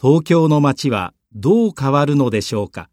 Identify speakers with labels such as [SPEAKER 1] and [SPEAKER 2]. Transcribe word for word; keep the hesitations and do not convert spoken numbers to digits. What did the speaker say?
[SPEAKER 1] 東京の街はどう変わるのでしょうか。